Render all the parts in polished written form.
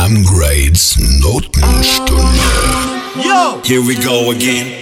Grades Notenstunde. Yo! Here we go again.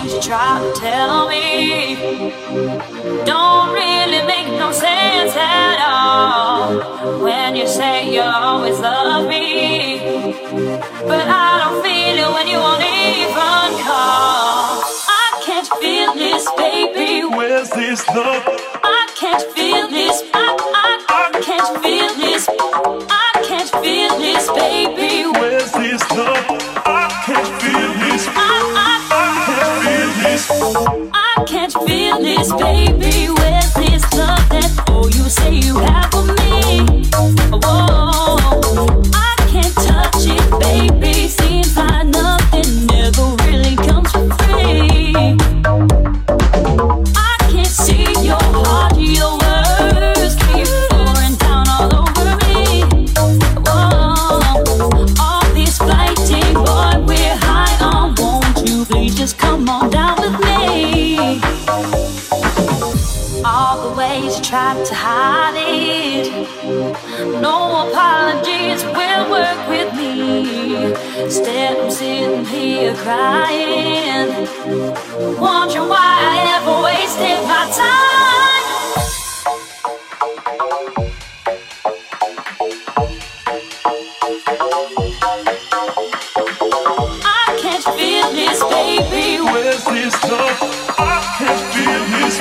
things you try to tell me don't really make no sense at all. When you say you always love me, but I don't feel it when you won't even call. I can't feel this, baby. Where's this love? I can't feel this. I can't feel this. I can't feel this, baby. Where's this love? I can't feel this. I can't feel this. I can't feel this, baby. Where's this love that you say you have for me? Whoa, I can't touch it, baby. Seems like nothing never really comes for free. I can't see your heart, your words keep pouring down all over me. Whoa, all this fighting, boy, we're high on. Won't you please just come on down with me? All the ways you tried to hide it, no apologies will work with me. Instead I'm sitting here crying, wondering why I ever wasted my time. I can't feel this, baby. Where's this love? I can't feel this.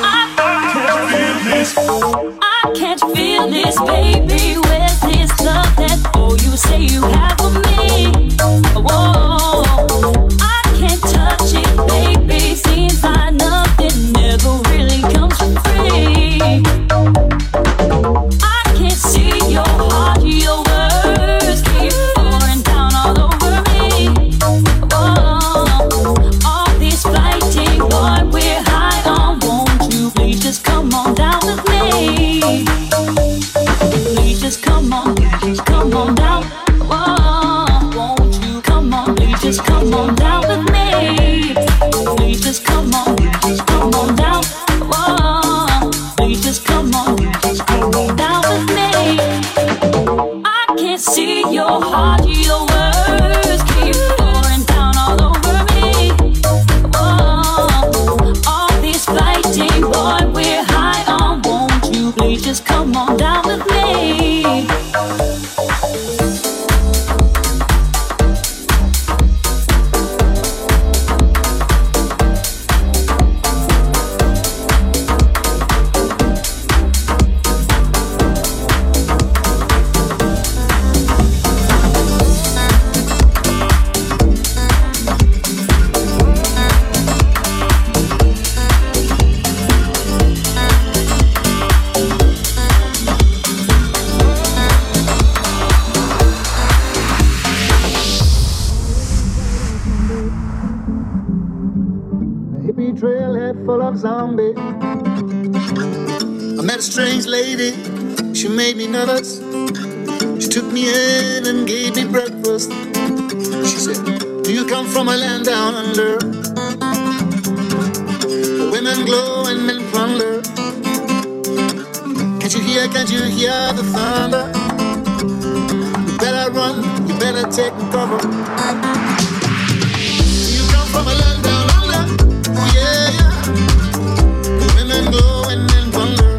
I can't feel this, baby. Where's this love that you say you have for me? Whoa, I can't touch it, baby. Seems like nothing never really comes for free. I can't see your heart, your words keep pouring down all over me. Whoa, all this fighting, boy, we're high on. Won't you please just come on down with me? Please just come on down. Whoa, won't you come on? Please just come on down with me. Please just come on down. Whoa, please just come on down with me. I can't see your heart, your words keep pouring down all over me. Whoa, all this fighting, boy, we're high on. Won't you please just come on down with me? Full of zombies. I met a strange lady, she made me nervous. She took me in and gave me breakfast. She said, do you come from a land down under? The women glow and men plunder. Can't you hear the thunder? You better run, you better take cover. Do you come from a land down under? Oh yeah, yeah. Women glow and men plunder.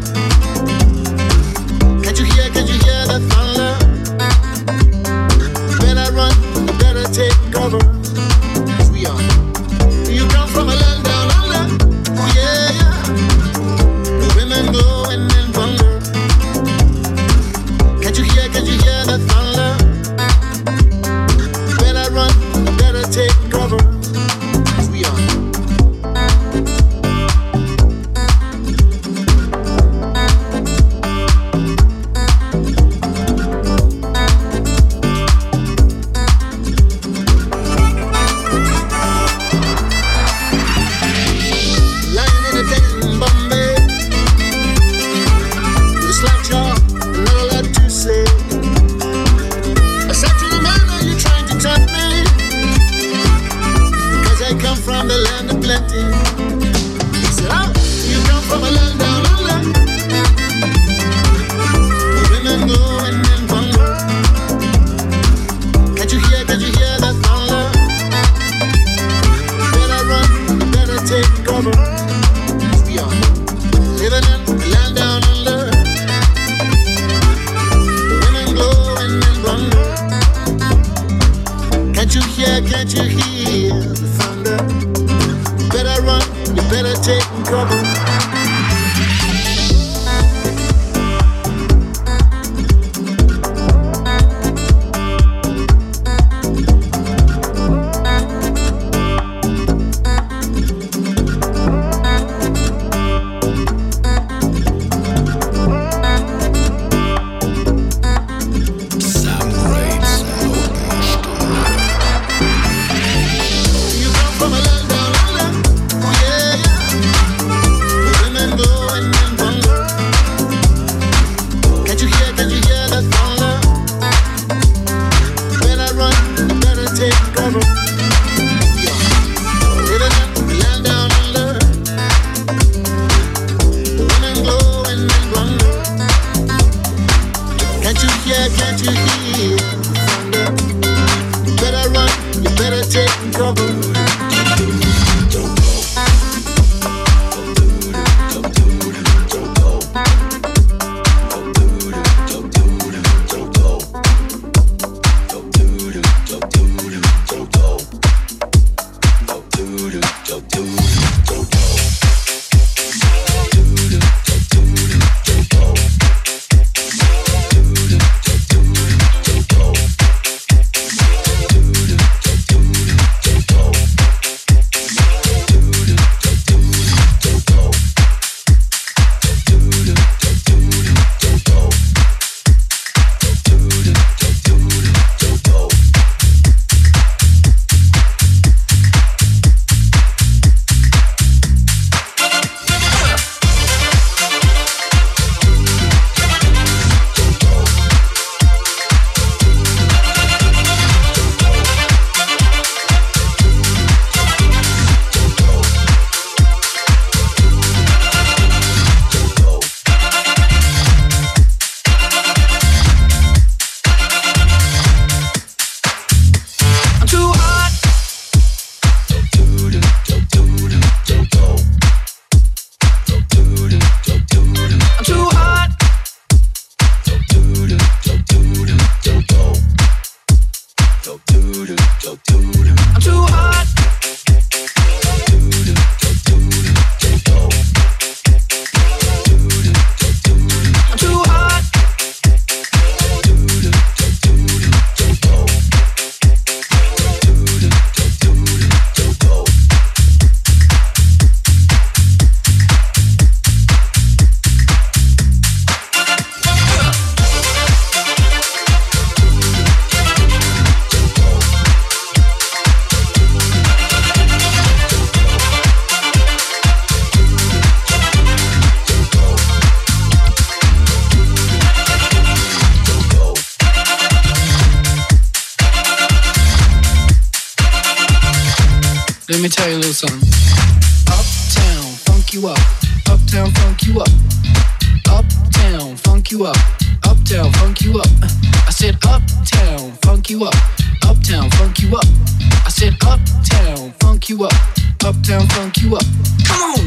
Can't you hear the thunder? You better run, you better take cover. Yes, we are. Do you come from a land down under? Oh yeah, yeah. Women glow and men plunder. Can't you hear the thunder? You better run, you better take cover. Yes, we are. you better take cover. Let me tell you a little something. Uptown, funk you up. Uptown, funk you up. Uptown, funk you up. Uptown, funk you up. I said uptown, funk you up. Uptown, funk you up. I said uptown, funk you up. Uptown, funk you up. Come on!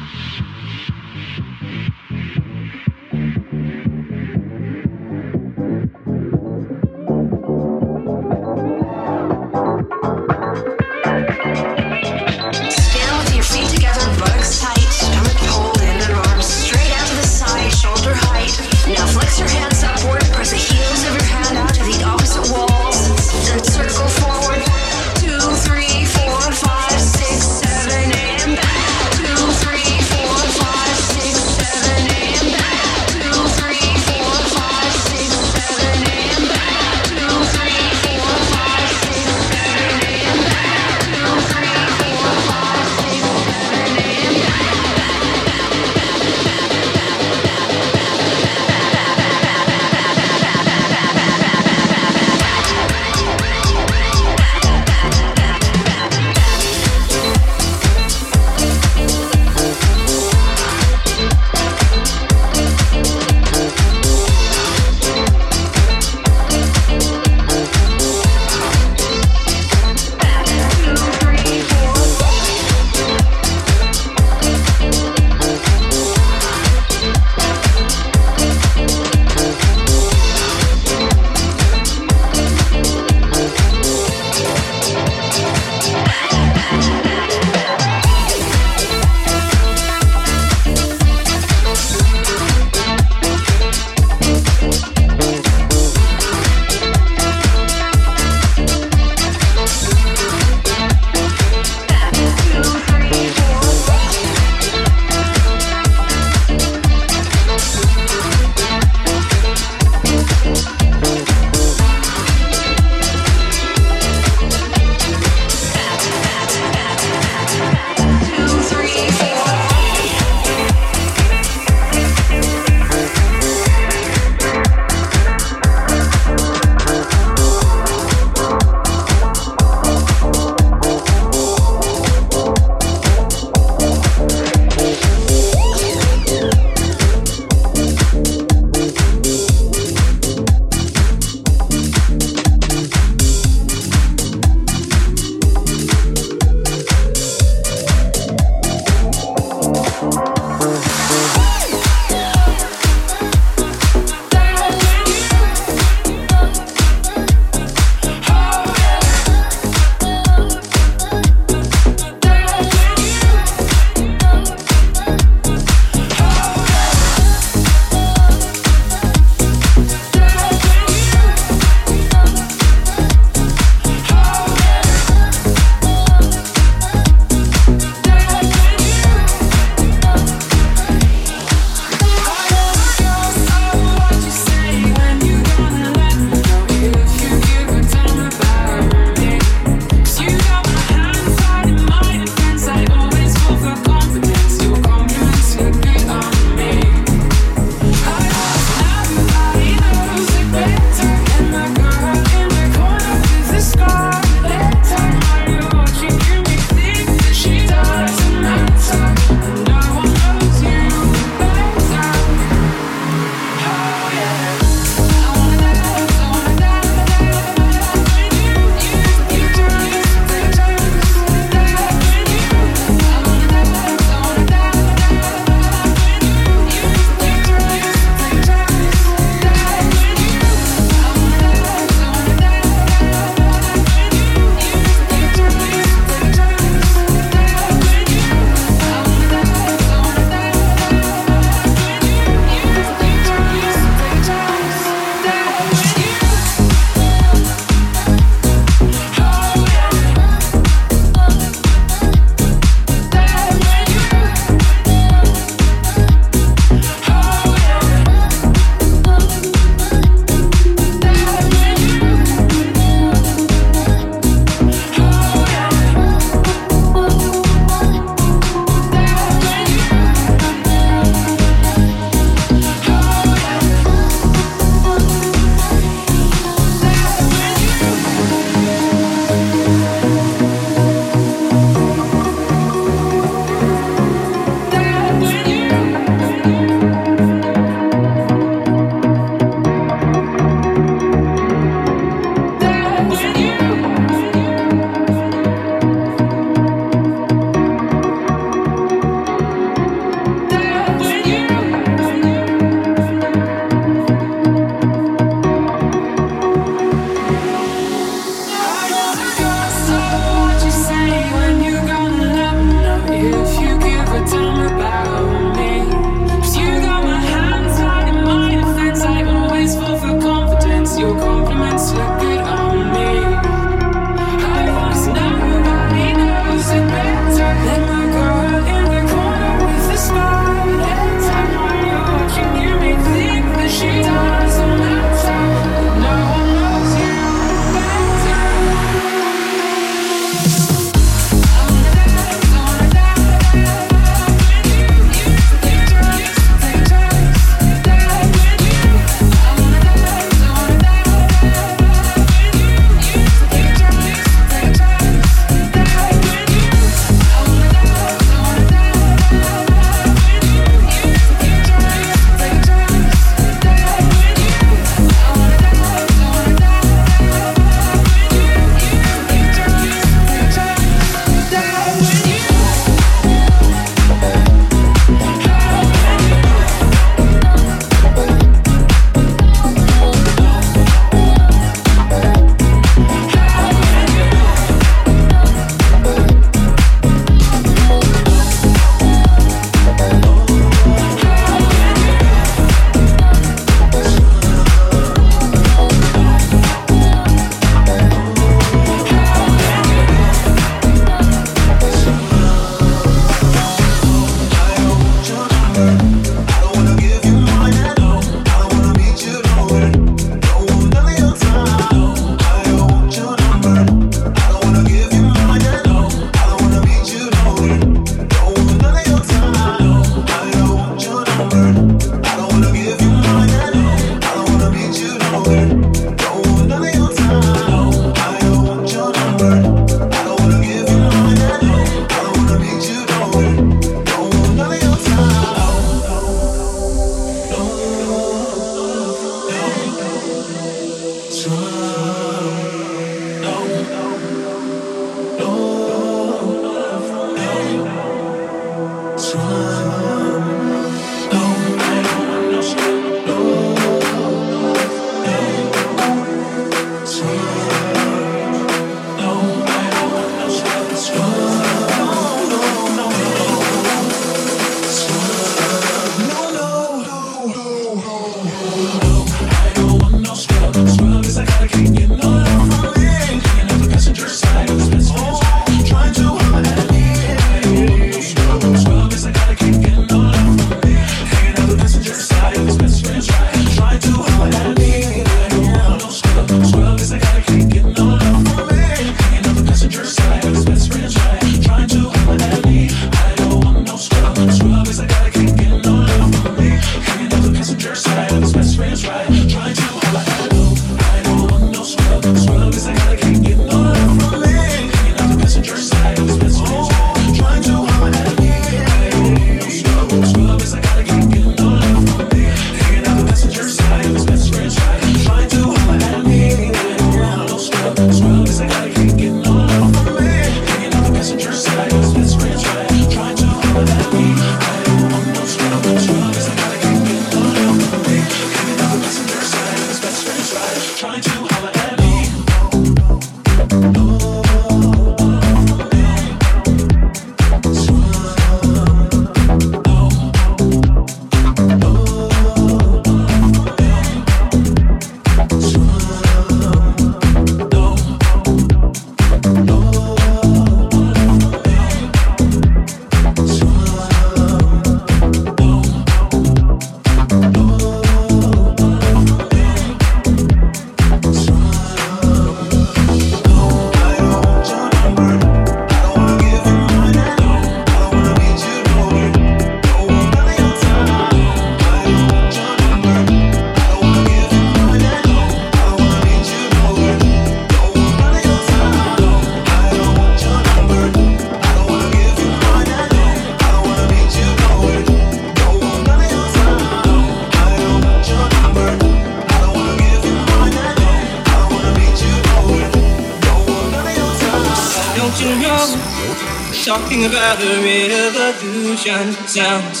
Talking about a revolution sounds.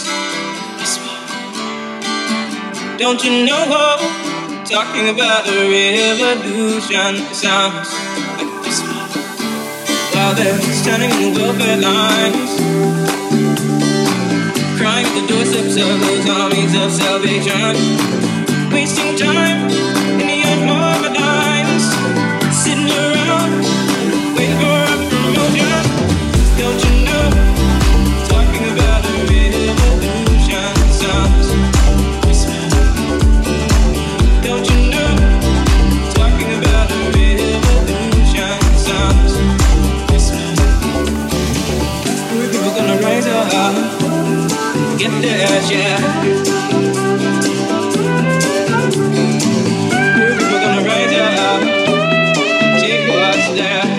Don't you know? Talking about a revolution sounds. While they're standing in the welfare lines, crying at the doorsteps of those armies of salvation, wasting time in the unorganized, sitting around waiting for a promotion. Don't you know? Talking about a revolution sounds. Don't you know? Talking about a revolution sounds. We're people gonna rise up, get there, yeah. We're people gonna rise up, take what's there.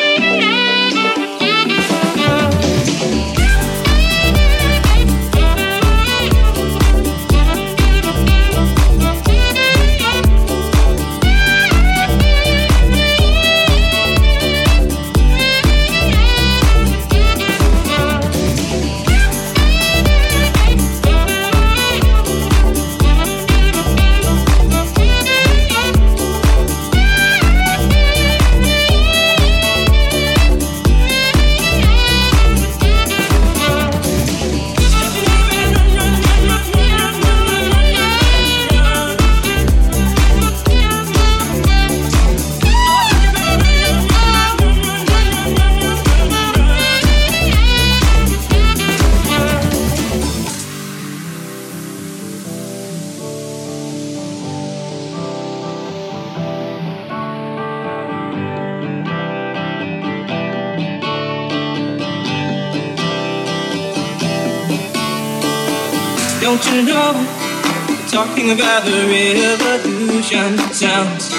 Don't you know? Talking about the revolution sounds.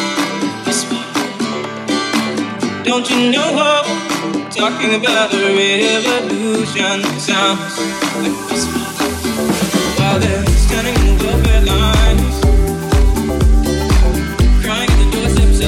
Don't you know? Talking about the revolution sounds. While they're standing in the welfare lines, crying at the doorsteps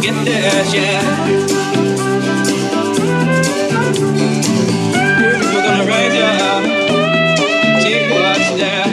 get there, yeah. We're gonna rise up, take what's there.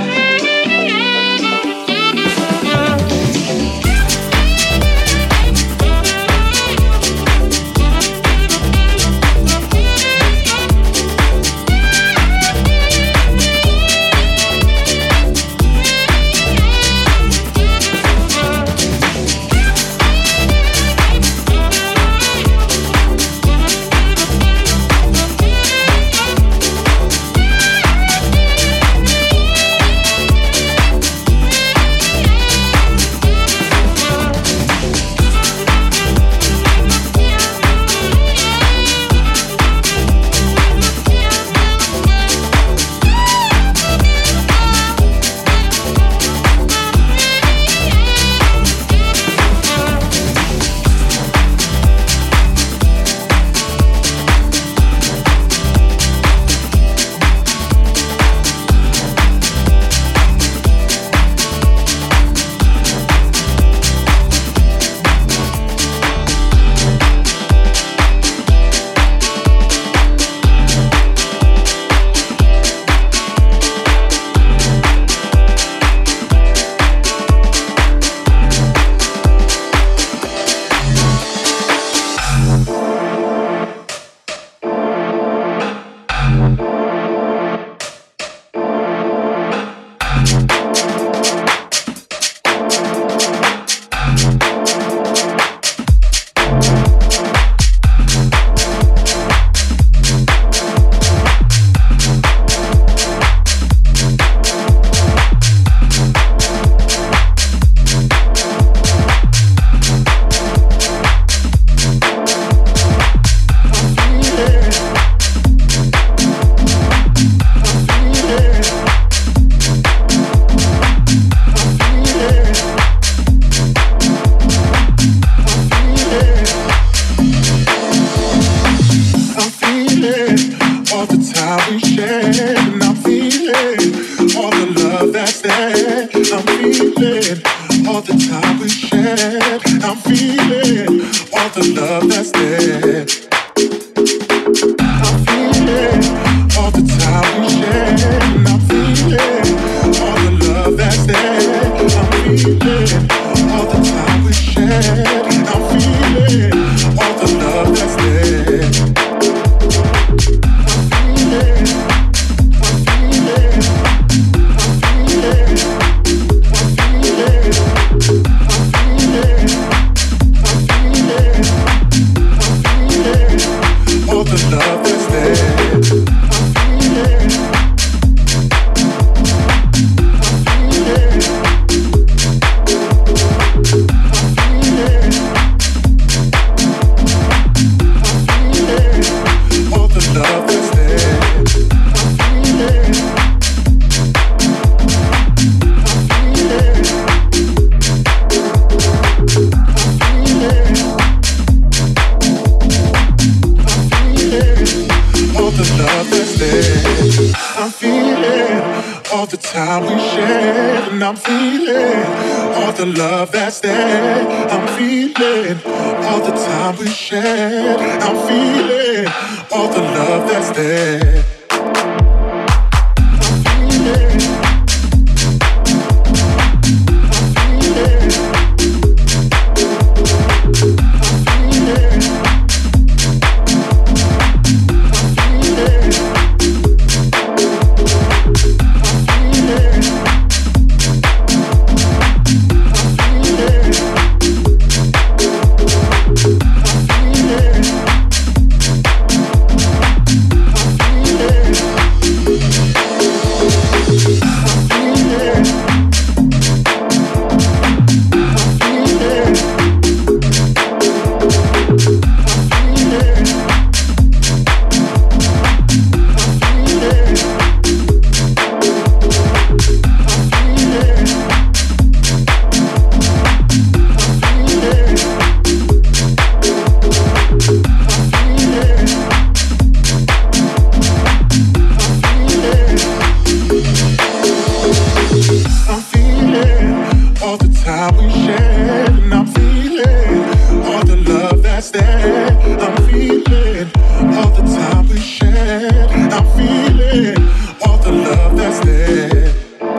that's there. I'm feeling all the time we shared. I'm feeling all the love that's there.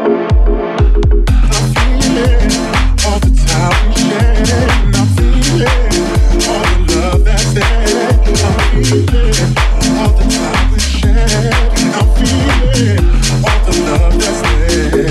I'm feeling all the time we shared. I'm feeling all the love that's there. I'm feeling all the time we shared. I'm feeling all the love that's there.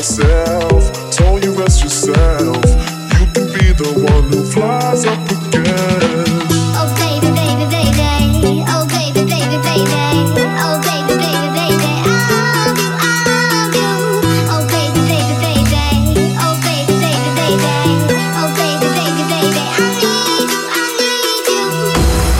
myself, told you rest yourself. You can be the one who flies up again. Oh baby, baby, baby. Oh baby, baby, baby. Oh baby, baby, baby. I love you. Oh baby, baby, baby. Oh baby, baby, baby. Oh baby, baby, baby. I need you. I need you.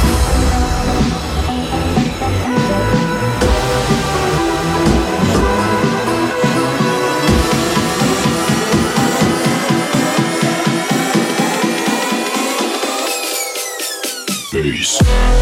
Bass.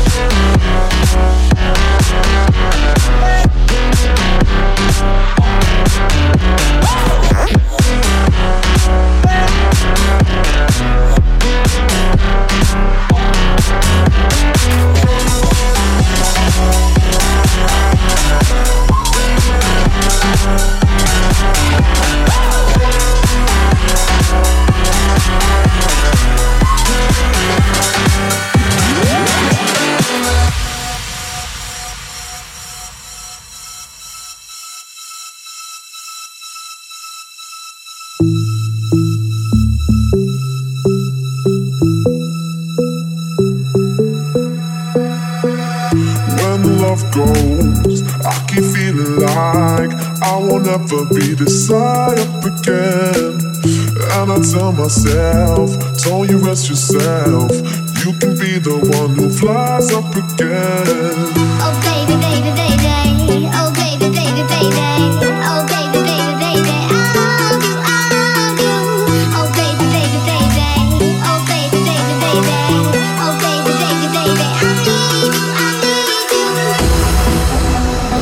When love goes, I keep feeling like I won't ever be this high up again. And I tell myself, told you rest yourself. You can be the one who flies up again. Oh baby, baby, baby. Oh baby, baby, baby. Oh baby, baby, baby. I love you. I love you. Oh baby, baby, baby. Oh baby, baby, baby. Oh baby, baby, baby. I need you. I need you.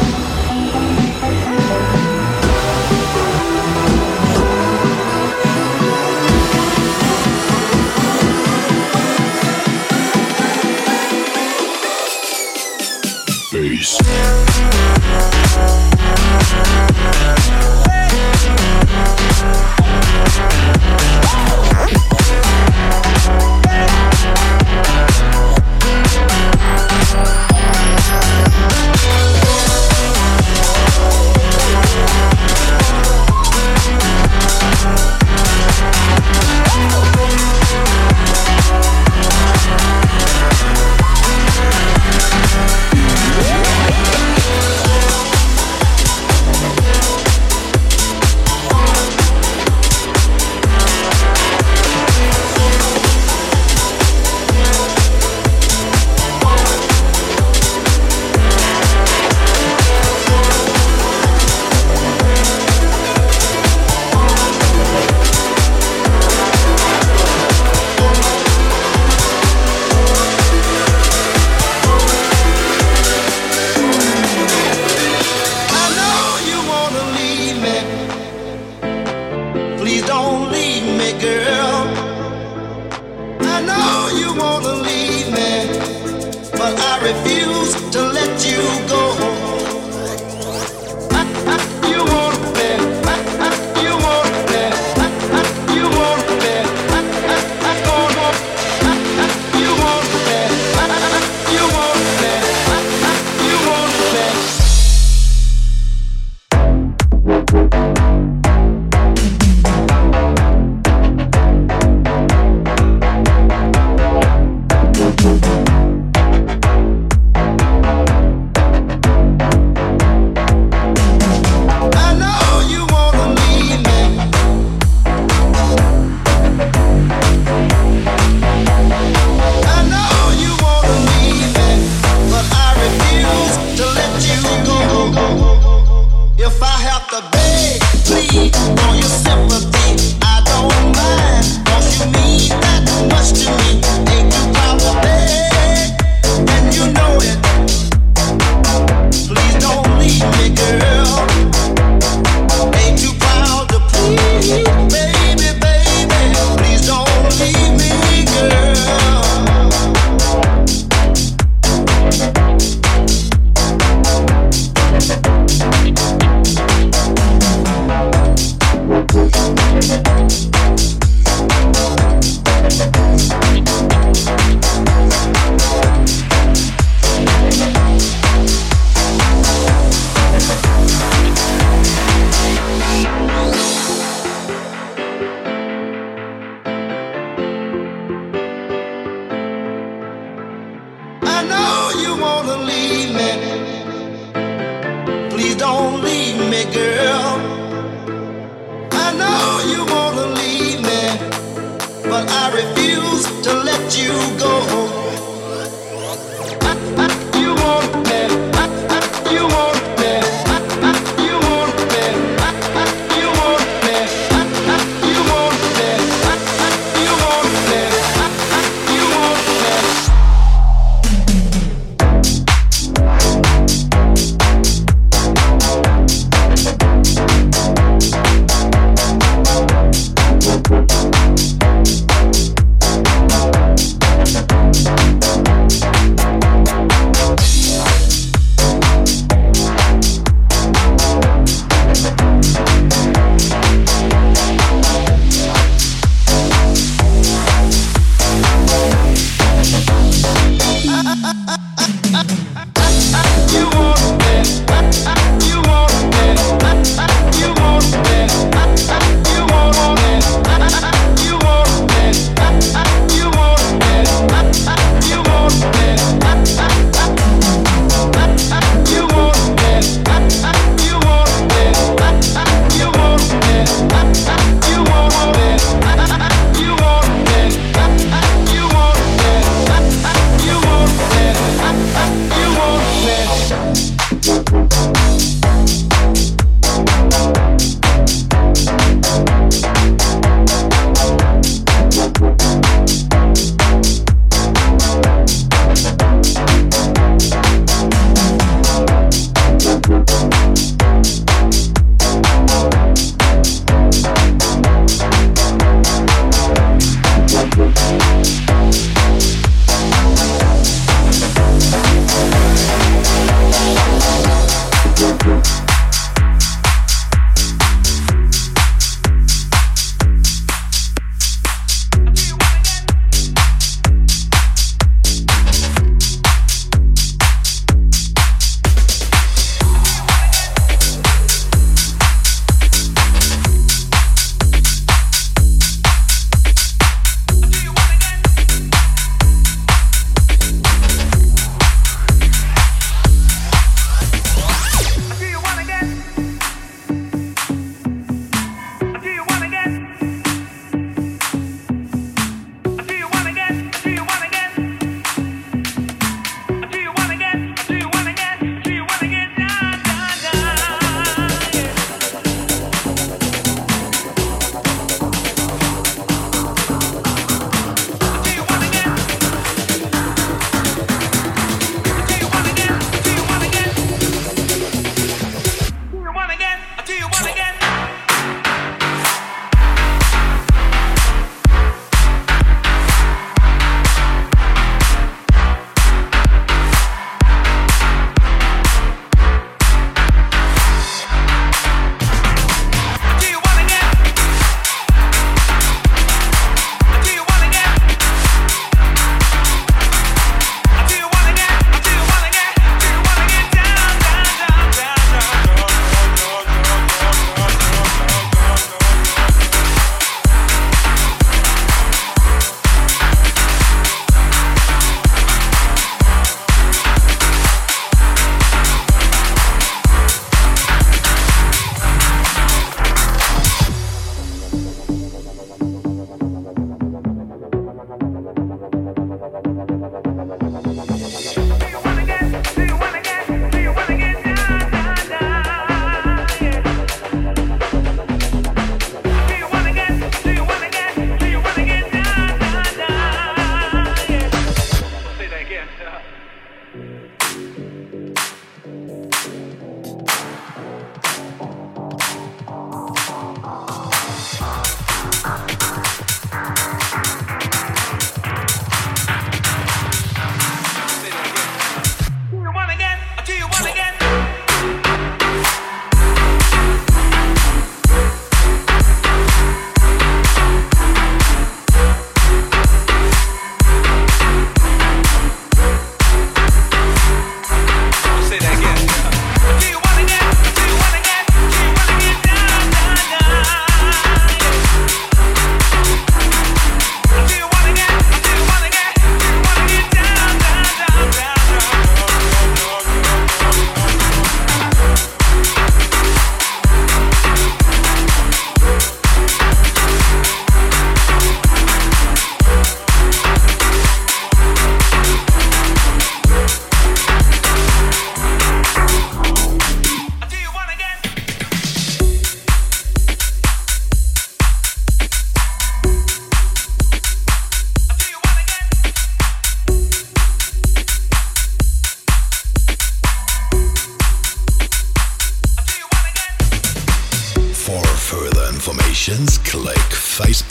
Bass. but I refuse to let you go. You want me, you want me, you want me, you want me, you want me, you want me, you want me.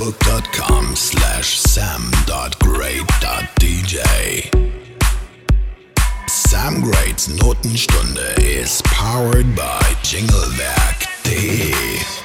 Facebook.com/sam.great.dj. Sam Greats Notenstunde is powered by Jinglewerk.de.